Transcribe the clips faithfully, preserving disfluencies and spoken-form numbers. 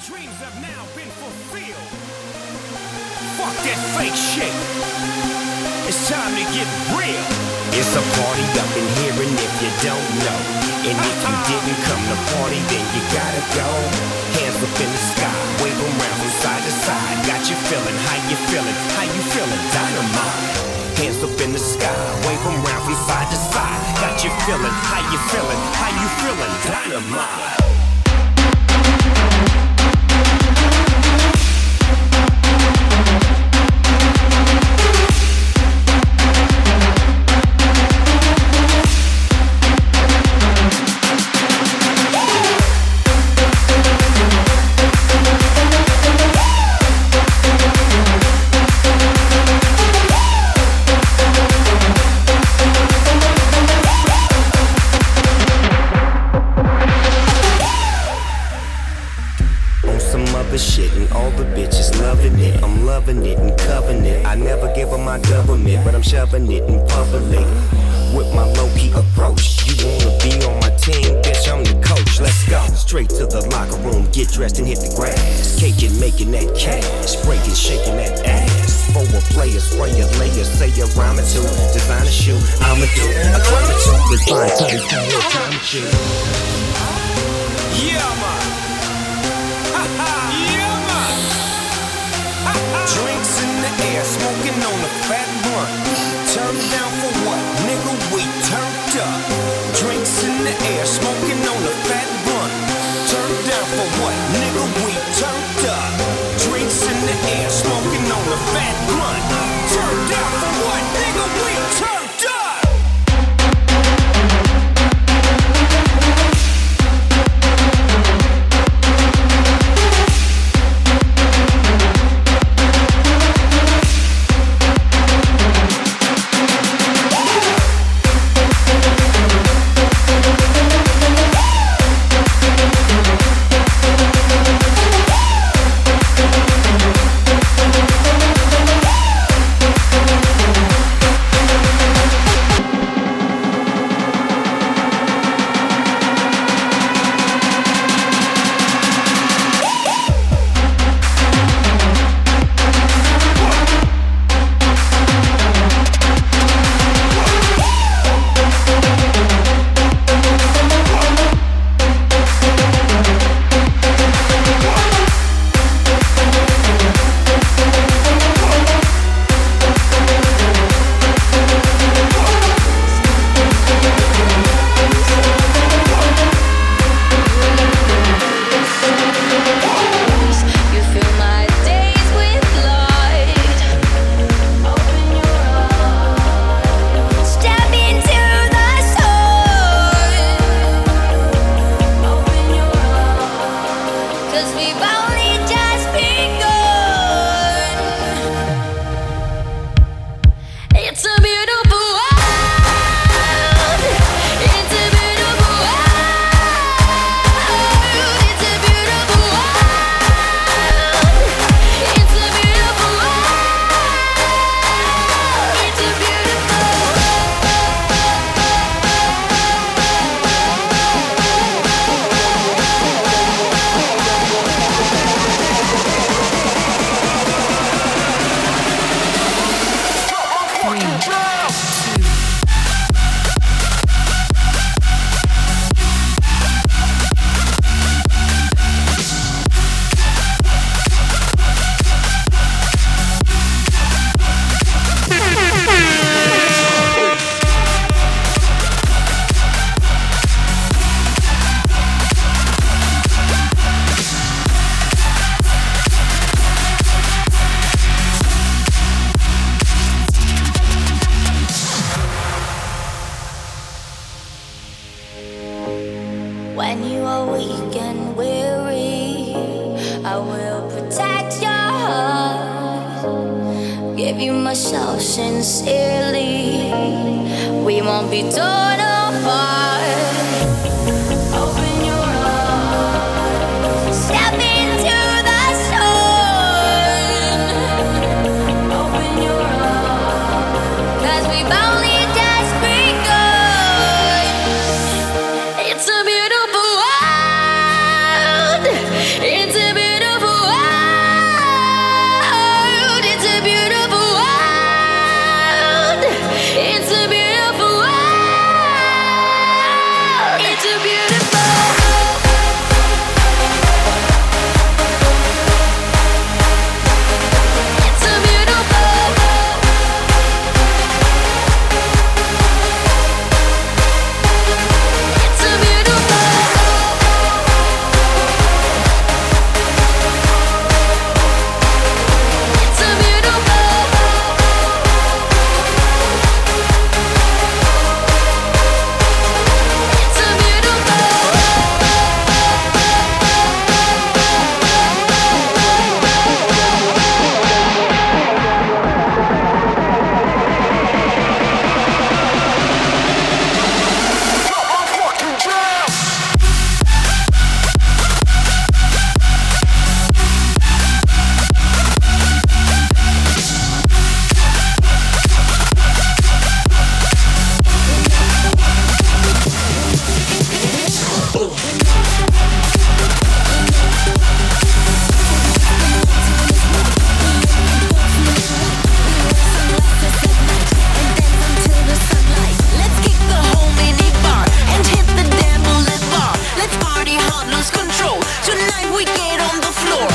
dreams have now been fulfilled. Fuck that fake shit. It's time to get real. It's a party up in here, and if you don't know, and if you didn't come to party, then you gotta go. Hands up in the sky, wave 'em round from side to side. Got you feeling, how you feeling, how you feeling, dynamite. Hands up in the sky, wave 'em round from side to side. Got you feeling, how you feeling, how you feeling, dynamite. Shit and all the bitches loving it. I'm loving it and covering it. I never give them my government, but I'm shoving it in public with my low-key approach. You wanna be on my team, bitch? I'm the coach. Let's go straight to the locker room, get dressed and hit the grass. Caking, making that cash, breaking, shaking that ass. For a player, spray a layer, say a rhyme or two. Design a shoe, I'ma do a climb or two. Design cutting, time to shoot. Yeah, man. Drinks in the air, smoking on a fat blunt. Turned down for what? Nigga, we turned up. Drinks in the air, smoking on a fat blunt. Turned down for what? Nigga, we turned up. Drinks in the air, smoking on a fat blunt. Turned down for what? Nigga, we turned up. When you are weak and weary, I will protect your heart. Give you myself sincerely. We won't be torn apart. Open your eyes. Step into the sun. Open your eyes. 'Cause we've only just begun. It's a beautiful world. It's a beautiful not lose control. Tonight we get on the floor.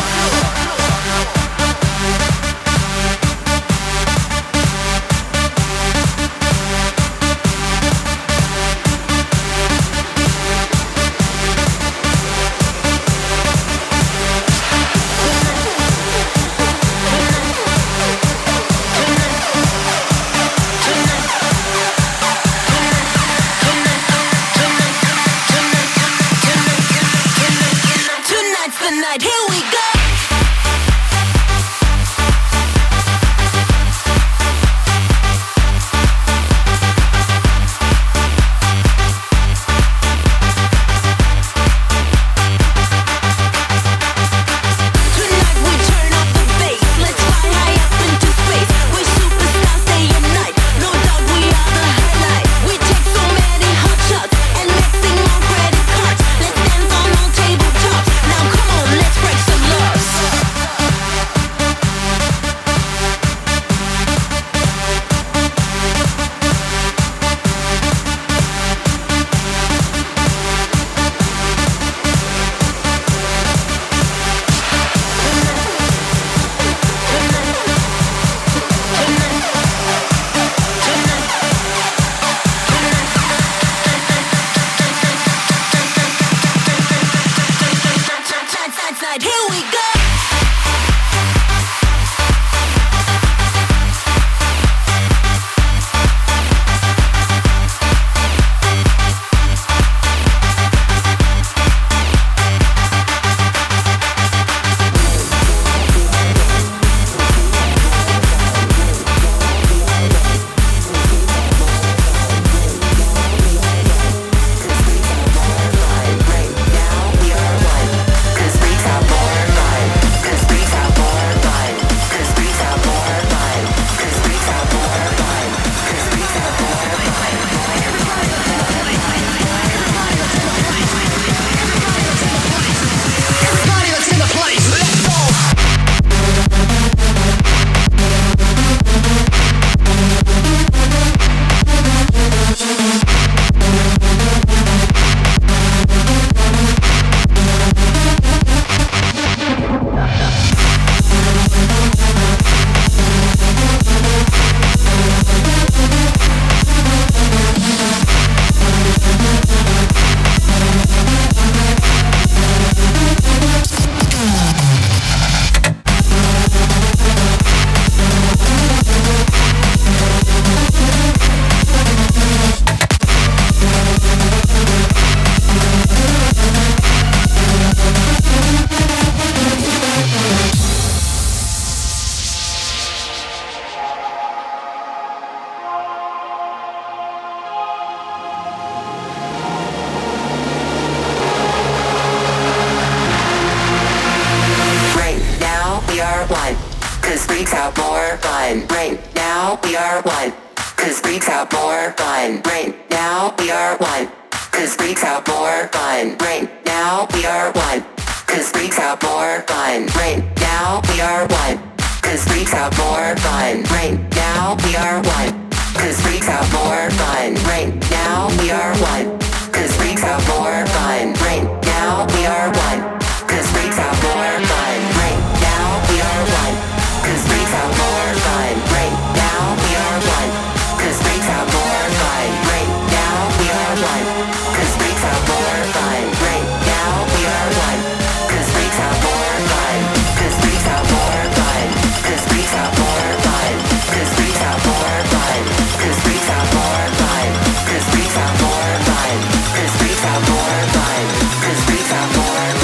More fun, 'cause freaks have more fun, 'cause freaks have more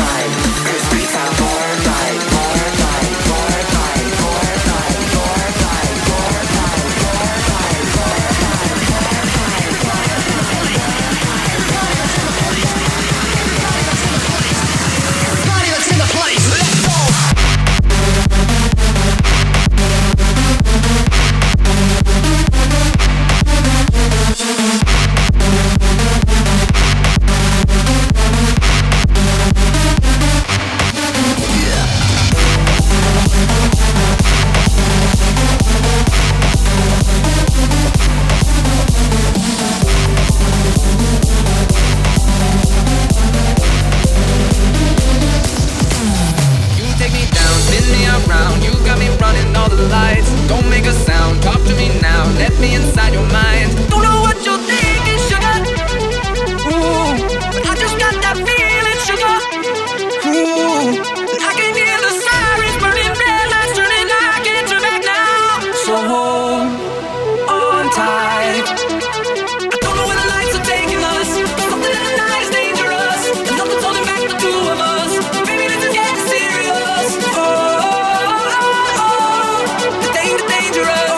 me inside your mind. Don't know what you're thinking, sugar. Ooh, but I just got that feeling, sugar. Ooh, I can hear the sirens burning, red lights turning. I can't turn back now. So hold on tight. I don't know where the lights are taking us. Something in the night is dangerous. Nothing's holding back the two of us. Baby, this is getting serious. Oh, oh, oh, oh. The danger, dangerous.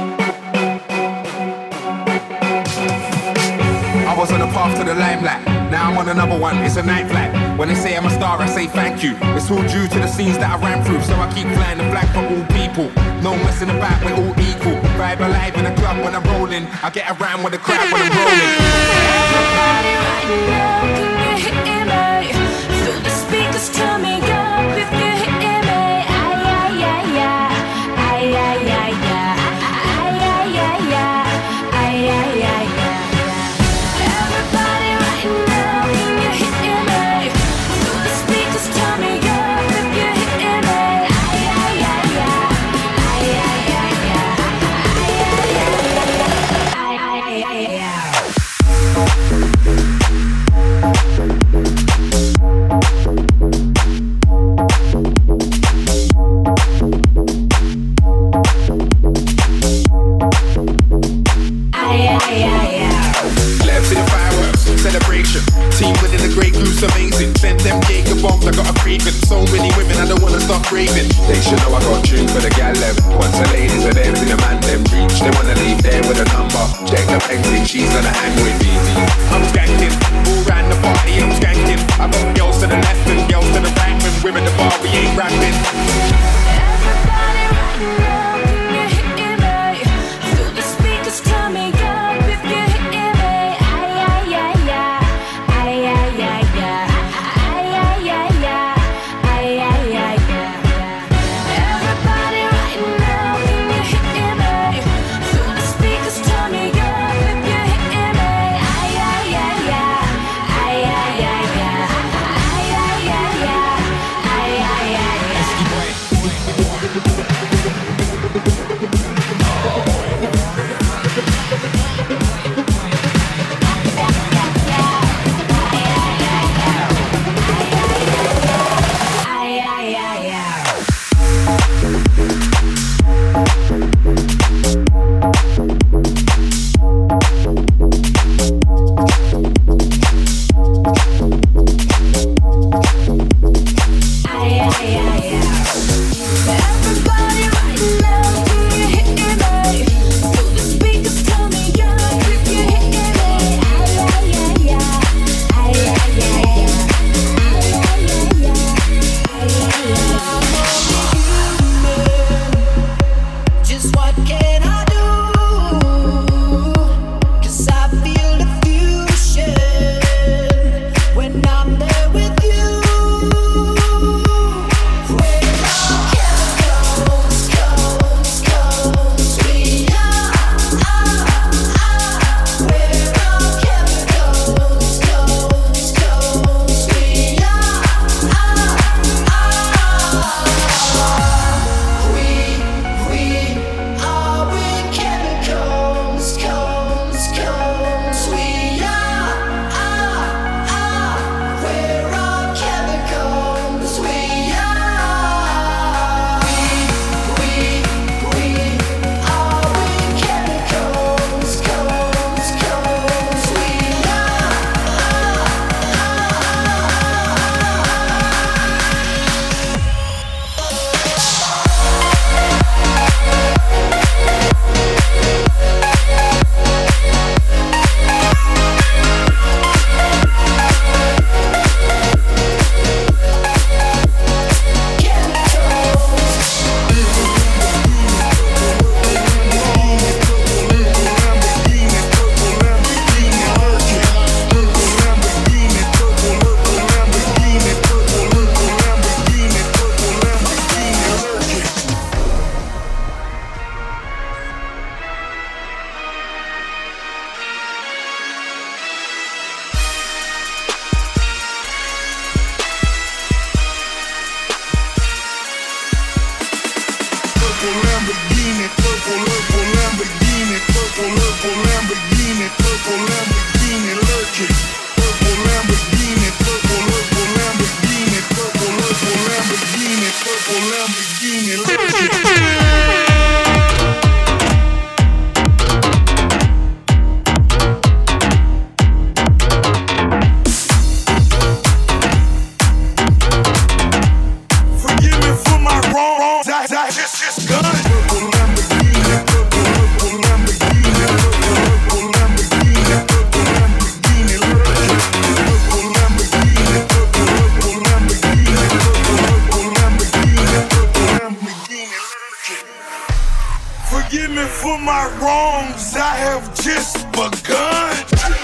was on the path to the limelight. Now I'm on another one, it's a night flight. When they say I'm a star, I say thank you. It's all due to the scenes that I ran through, so I keep flying the flag for all people. No messing about, we're all equal. Vibe alive in the club when I'm rolling. I get around with the crowd when I'm rolling. Everybody right now, can you hear me? Through the speakers, turn me up if you hear me. Ay, ay, ay, ay. Ay, ay, ay, ay. Ay, ay, ay, ay. Ay, ay, ay, ay. Everybody right now, can you hear me? Through the speakers, turn me up if you hear me. Ay, ay, ay, ay. Ay, ay, ay, ay. Ay, ay, ay, ay. Left to the fireworks, celebration. Team winning a great group's amazing. Sent them Jacob bombs, I got a craving. So many women, I don't wanna stop raving. They should know I got tune for the gal them. Once the ladies are there, see the man them reach. They wanna leave there with a number. Check the exit, she's gonna hang with me. I'm skanking, all round the party, I'm skanking. I got girls to the left and girls to the right. When we're in the bar, we ain't rapping. Everybody right now, can you hear me? Through the speakers, turn me up if you hear me. Ay, ay, ay, ay. Ay, ay, ay, ay. Ay, ay, ay, ay. Ay, ay, ay, ay. Everybody right now, can you hear me? Through the speakers, turn me up if you hear me. Ay, ay, ay, ay. Ay, ay, ay, ay. Ay, ay, ay, ay. Ay, ay, ay, ay. Everybody right now, can you hear me? Through the speakers, tell me up if you hear me. Ay, ay, ay, ay. Ay, ay, ay, ay. Ay, ay, ay, ay. Ay, ay, ay. Just what can I do? 'Cause I feel the fusion when I'm there with you. Where our chemicals, codes, codes, we are. Where our chemicals, codes, codes, we are. We, we are with chemicals, codes, codes, we are. Where our chemicals, we are. We, we, we are with chemicals, codes, codes, we are. Purple Lamborghini, purple, purple Lamborghini, purple, purple Lamborghini, purple Lamborghini lurking. Purple Lamborghini, purple, purple Lamborghini, purple, purple Lamborghini, purple Lamborghini lurking. Forgive me for my wrongs, I, I just, just done it. Purple Lamborghini, purple, purple Lamborghini, purple, purple Lamborghini, purple have just begun.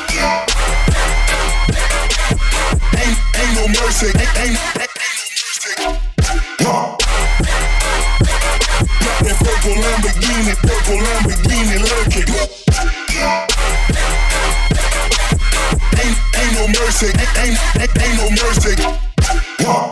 Ain't, ain't no mercy, ain't, ain't, ain't no mercy. Huh. Got that purple Lamborghini, purple Lamborghini lurking. Ain't, ain't no mercy, ain't, ain't, ain't, ain't no mercy. Huh.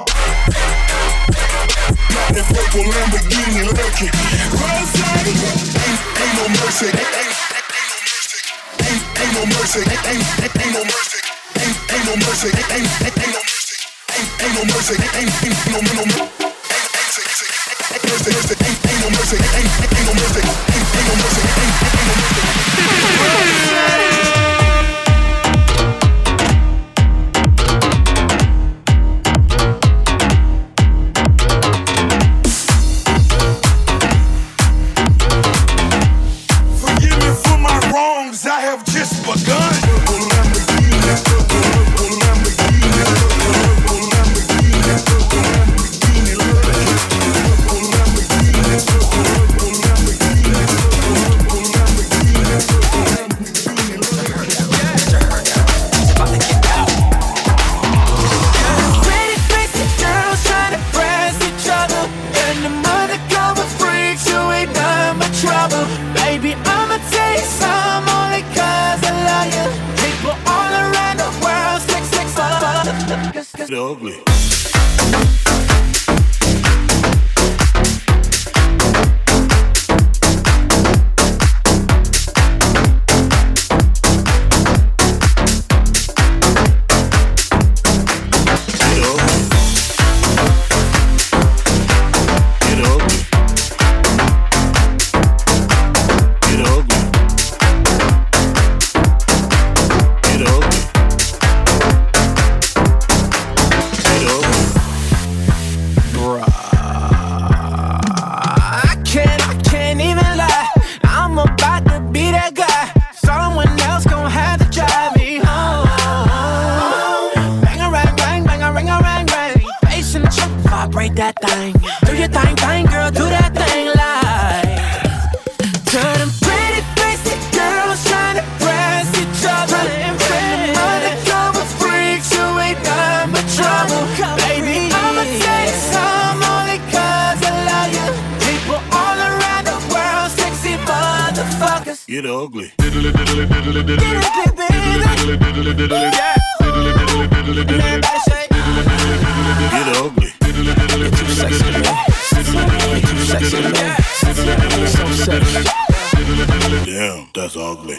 Got that purple Lamborghini lurking. Rose, ain't, ain't no mercy, ain't, ain't, ain't no mercy, ain't, ain't, ain't no mercy, ain't, ain't no mercy, ain't, ain't, ain't no mercy, ain't, ain't no mercy, ain't, ain't, ain't no no no. Ain't no mercy, ain't, ain't no mercy, ain't, ain't no mercy, ain't, ain't no mercy, ain't, ain't no mercy. I have just begun. Ugly. That thing, do your thing, thing, girl, do that thing like. To them pretty faced girls trying to press each other and friend. Undercover freaks who ain't done but trouble. Baby, I'ma say some only cause I love you. People all around the world, sexy motherfuckers. Get ugly. Get ugly, baby. Yeah. Everybody say, get ugly. you're too sexy, man. You're too sexy, man. You're so sexy. Damn, that's ugly.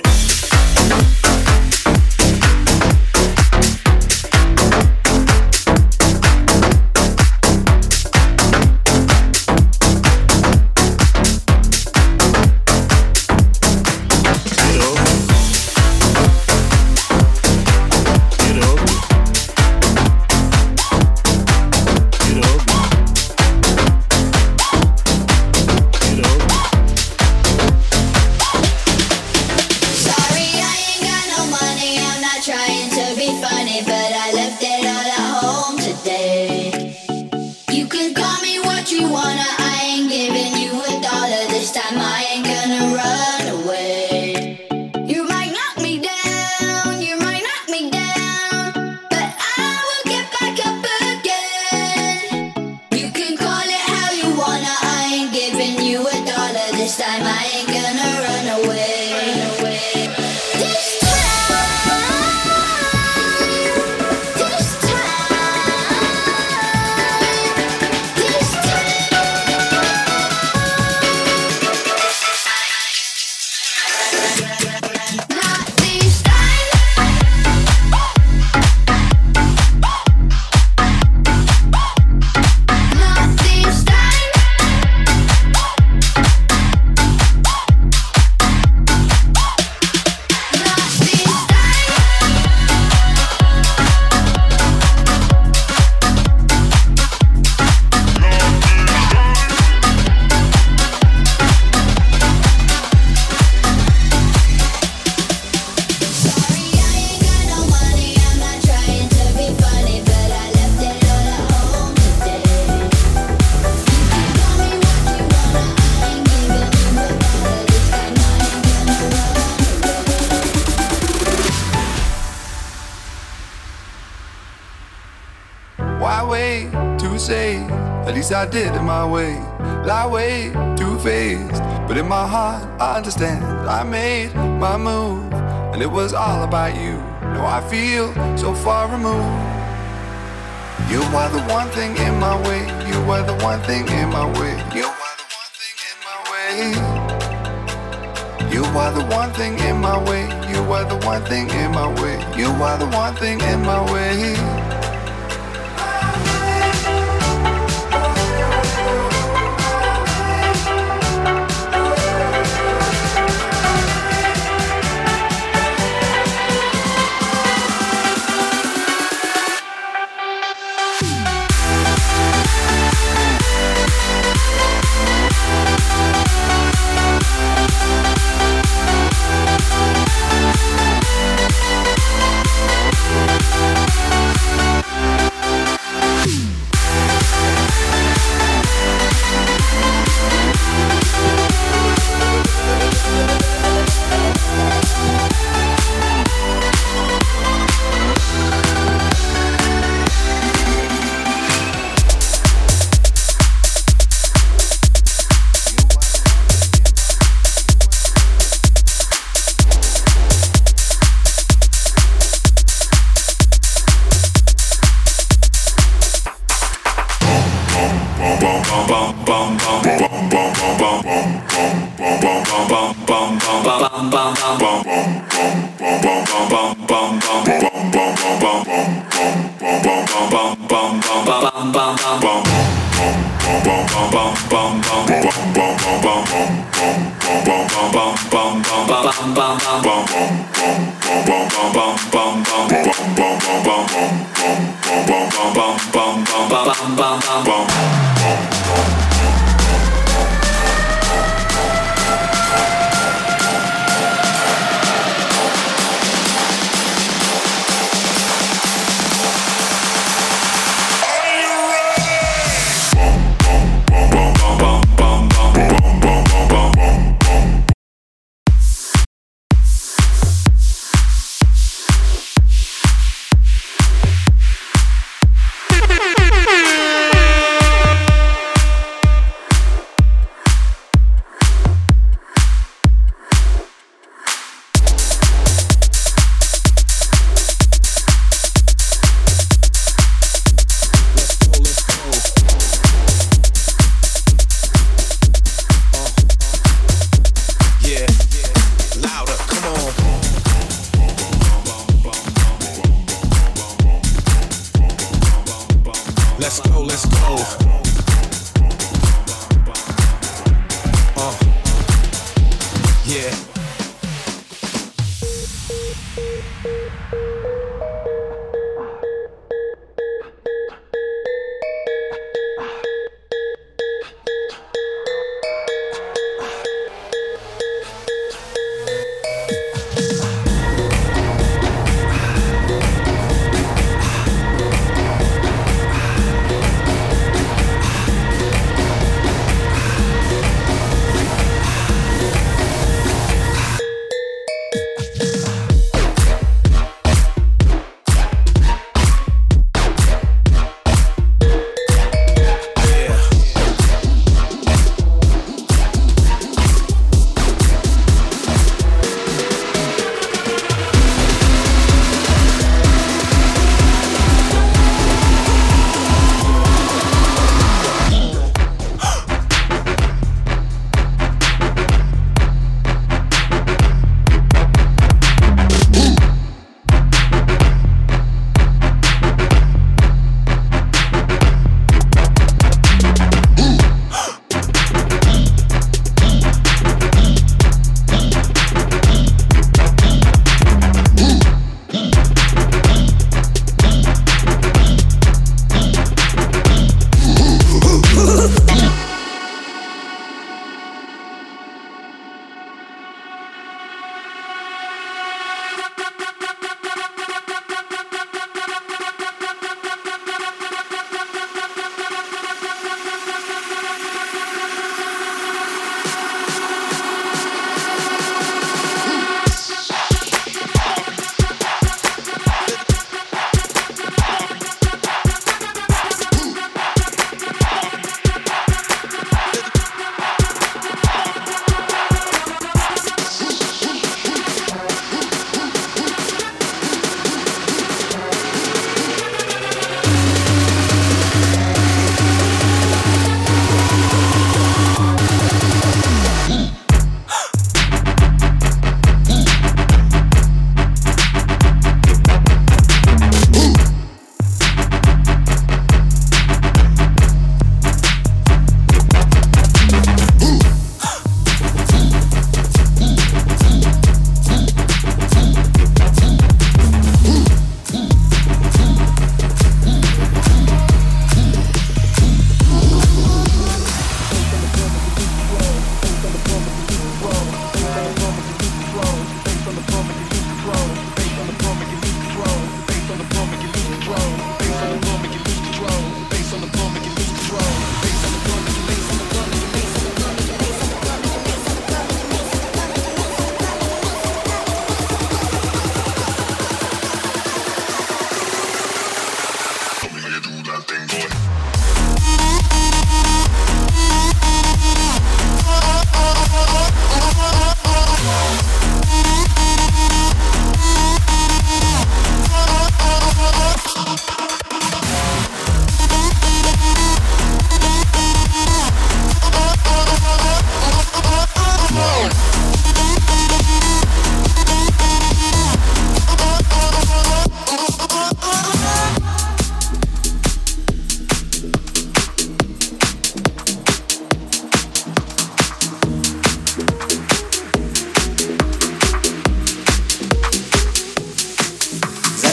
Why wait to say? At least I did it my way. Lie way too faced, but in my heart I understand. I made my move, and it was all about you. Now I feel so far removed. You are the one thing in my way. You are the one thing in my way. You are the one thing in my way. You are the one thing in my way. You are the one thing in my way. You are the one thing in my way.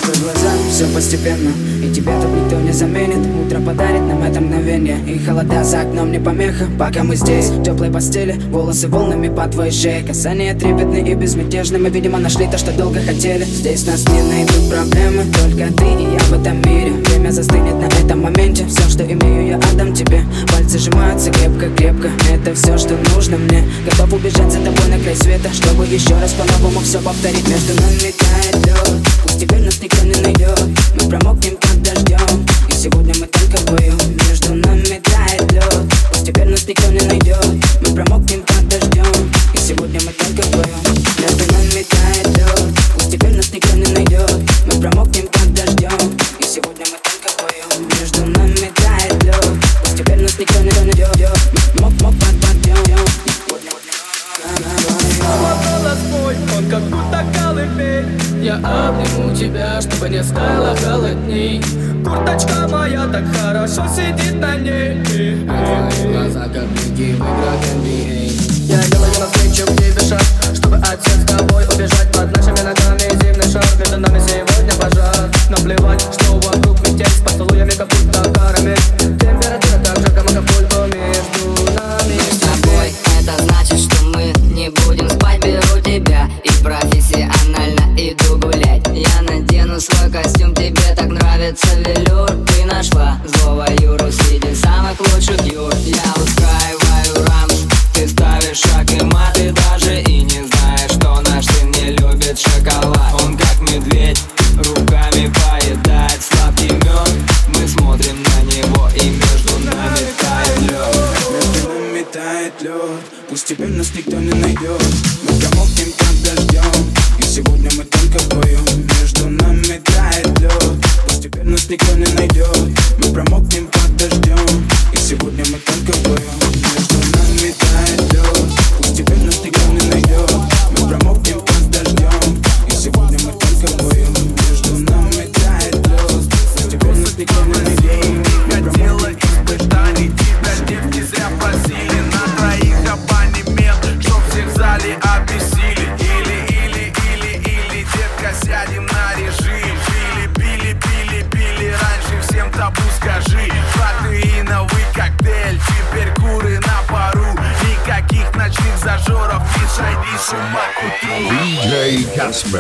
Закрой глаза, все постепенно, и тебя тут никто не заменит. Утро подарит нам это мгновение, и холода за окном не помеха. Пока мы здесь, в теплой постели, волосы волнами по твоей шее. Касания трепетные и безмятежны, мы, видимо, нашли то, что долго хотели. Здесь нас не найдут проблемы, только ты и я в этом мире. Время застынет на этом моменте, все, что имею, я отдам тебе. Пальцы сжимаются крепко-крепко, это все, что нужно мне. Готов убежать за тобой на край света, чтобы еще раз по-новому все повторить. Между нами тает лед, пусть теперь нас никто не найдет. Мы промокнем как дождем, и сегодня мы только вдвоем. Между нами тает лед, пусть теперь нас никто не найдет. Мы промокнем как дождем, и сегодня мы только вдвоем. Между нами тает лед, пусть теперь нас никто не найдет. Мы промокнем как дождем, и сегодня мы только вдвоем. Между нами тает лед, пусть теперь нас никто не найдет. Мок-мок под подъем. Снова голос мой, он как будто колыбель. Я обниму тебя, чтобы не стало холодней. Курточка моя так хорошо сидит на ней. А твои глаза как блики в играх эн би эй. Я делаю навстречу к тебе шаг, чтобы от всех с тобой убежать. Под нашими ногами зимний шар, между нами сегодня пожар. Наплевать, что вокруг метель, с поцелуями как будто карамель. Температура так же, как Акапулько между нами. Мы с тобой, это значит, что мы не будем спать. Беру тебя и профессионально иду гулять. Я надену свой костюм, тебе так нравится велюр. Ты нашла злого Юру среди самых лучших Юр. Я устраиваю рамс, ты ставишь шаг и мат. Ты даже и не знаешь, что наш сын не любит шоколад. Он как медведь, руками поедает сладкий мед. Мы смотрим на него, и между нами тает лед. Между нами тает лед, пусть теперь нас никто не найдет. Мы промокнем как дождем, и сегодня мы только вдвоем. Между нами тает лед, пусть теперь нас никто не найдет. Мы промокнем как дождем, и сегодня мы только вдвоем. Между нами тает лед, пусть теперь нас никто не найдет. Мы промокнем как дождем, и сегодня мы только вдвоем. Между нами тает лед, пусть теперь нас никто не найдет. Хотела испытаний, тебя девки зря просили. На троих абонемент, чтоб всех в зале обвесили. Или, или, или, или, детка, сядем на режим. Пили, пили, пили, пили, раньше всем табу скажи. Протеиновый коктейль, теперь куры на пару. Никаких ночных зажоров, не сойди с ума к утру. ди джей Casper.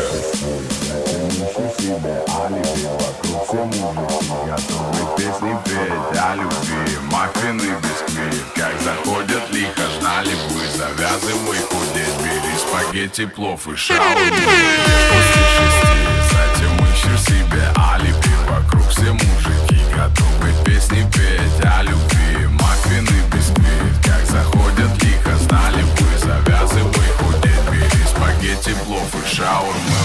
Готовы песни петь о любви, маффины, бисквит. Как заходят лихо, ждали бы, завязывай худеть. Бери спагетти, плов и шаурму. После шести, затем ищешь себе алиби. Вокруг все мужики, готовы песни петь о любви, маффины, бисквит. Как заходят лихо, знали бы, завязывай худеть. Бери спагетти, плов и шаурму.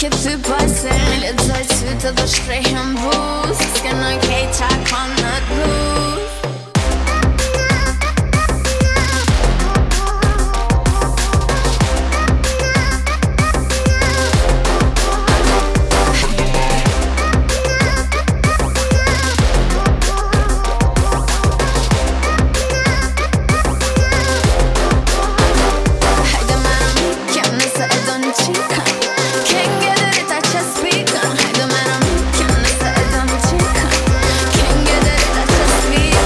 ты бассейн, лицо цвета до штрихом буз, скиной кейтак on the blues. Can't get it, I just speak.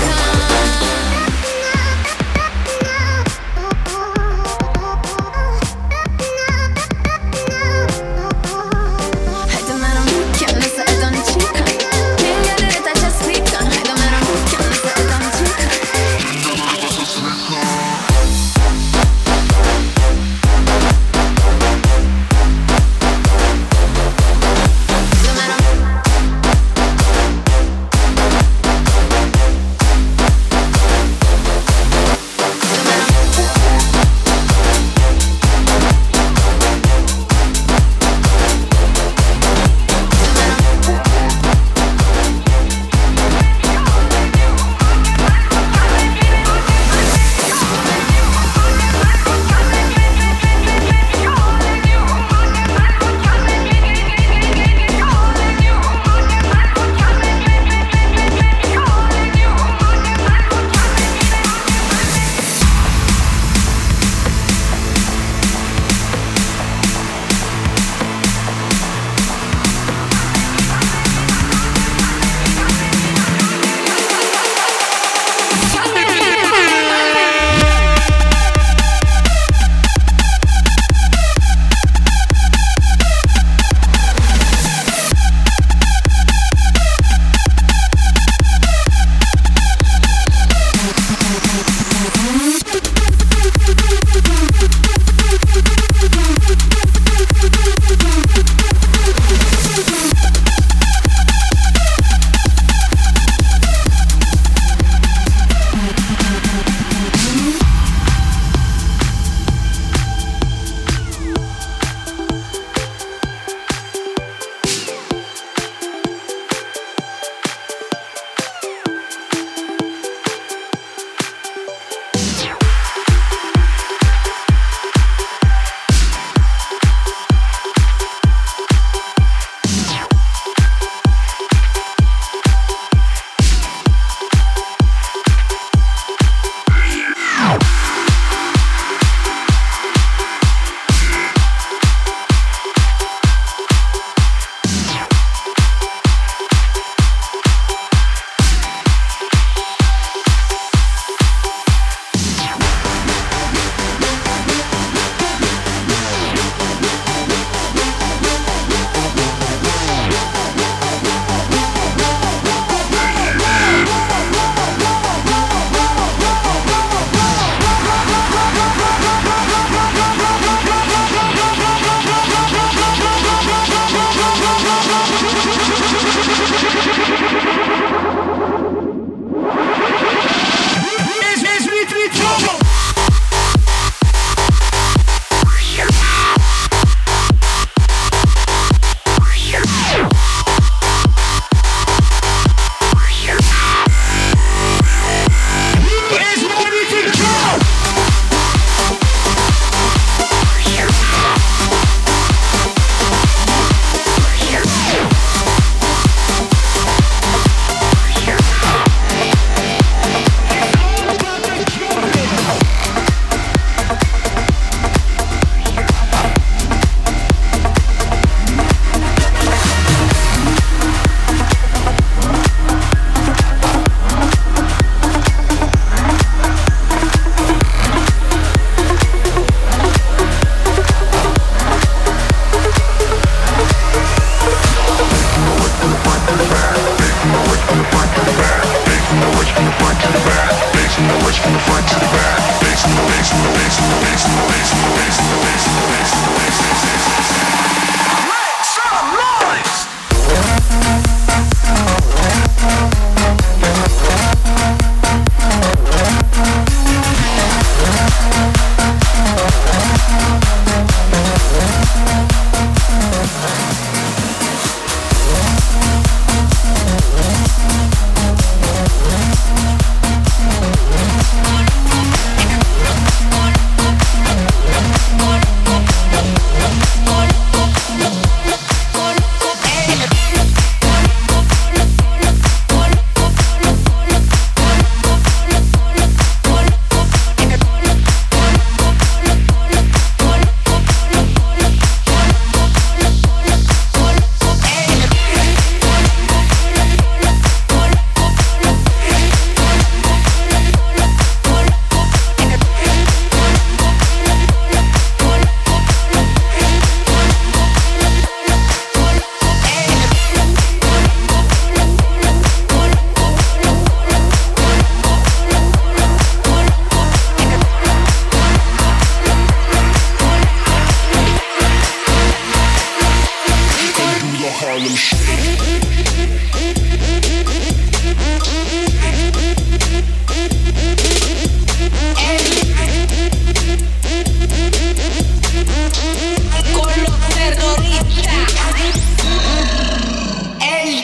Harlem Shake. Con los terroristas. Ey.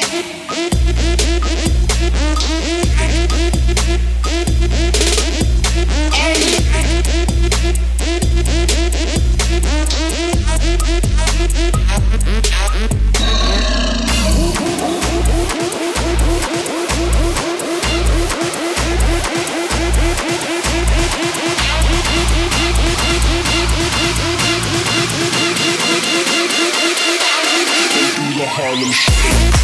Harlem Shake.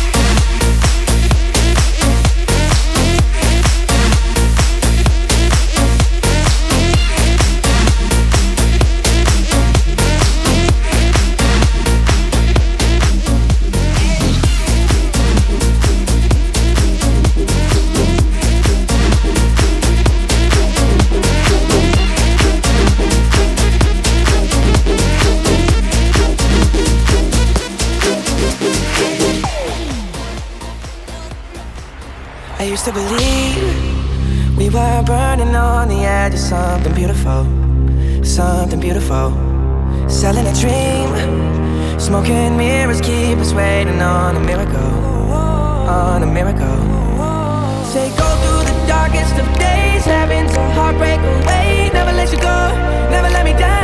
I used to believe we were burning on the edge of something beautiful, something beautiful. Selling a dream, smoking mirrors keep us waiting on a miracle, on a miracle. Say go through the darkest of days, having to heartbreak away. Never let you go, never let me down.